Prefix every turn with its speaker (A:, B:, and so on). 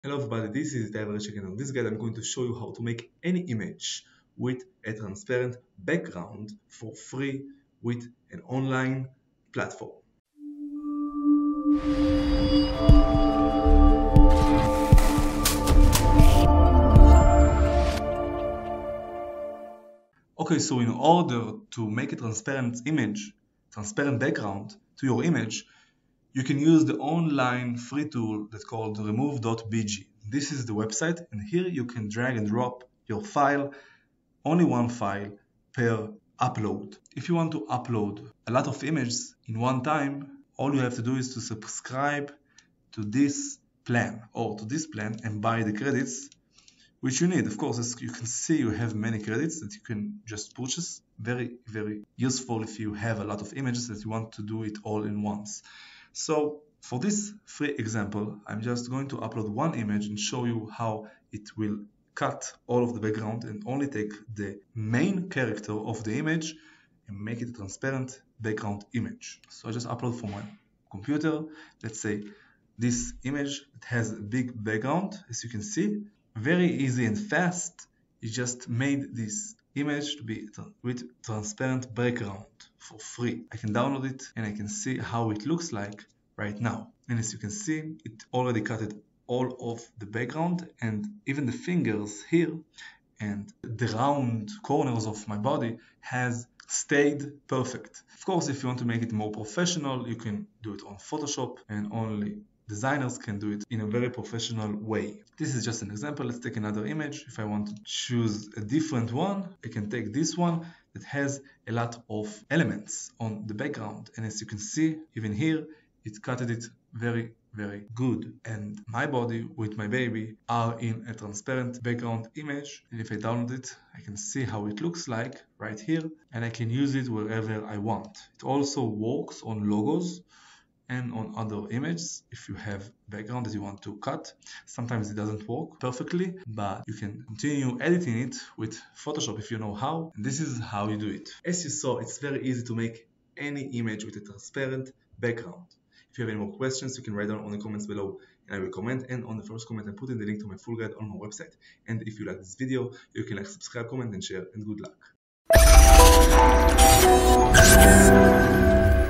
A: Hello everybody, this is David Rich again. On this guide I'm going to show you how to make any image with a transparent background for free with an online platform. Okay, so in order to make a transparent background to your image, you can use the online free tool that's called remove.bg. This is the website, and here you can drag and drop your file, only one file per upload. If you want to upload a lot of images in one time, all you have to do is to subscribe to this plan and buy the credits which you need. Of course, as you can see, you have many credits that you can just purchase. Very, very useful if you have a lot of images that you want to do it all in once. So for this free example, I'm just going to upload one image and show you how it will cut all of the background and only take the main character of the image and make it a transparent background image. So I just upload from my computer. Let's say this image that has a big background, as you can see. Very easy and fast. You just made this image to be with transparent background for free. I can download it and I can see how it looks like right now. And as you can see, it already cut all of the background and even the fingers here and the round corners of my body has stayed perfect. Of course, if you want to make it more professional, you can do it on Photoshop, and only designers can do it in a very professional way. This is just an example. Let's take another image. If I want to choose a different one, I can take this one that has a lot of elements on the background. And as you can see, even here, it cut it very, very good. And my body with my baby are in a transparent background image. And if I download it, I can see how it looks like right here. And I can use it wherever I want. It also works on logos and on other images if you have background that you want to cut. Sometimes it doesn't work perfectly, but you can continue editing it with Photoshop if you know how. And this is how you do it. As you saw, it's very easy to make any image with a transparent background. If you have any more questions, you can write down on the comments below and I will comment, and on the first comment I put in the link to my full guide on my website. And if you like this video, you can subscribe, comment and share, and good luck.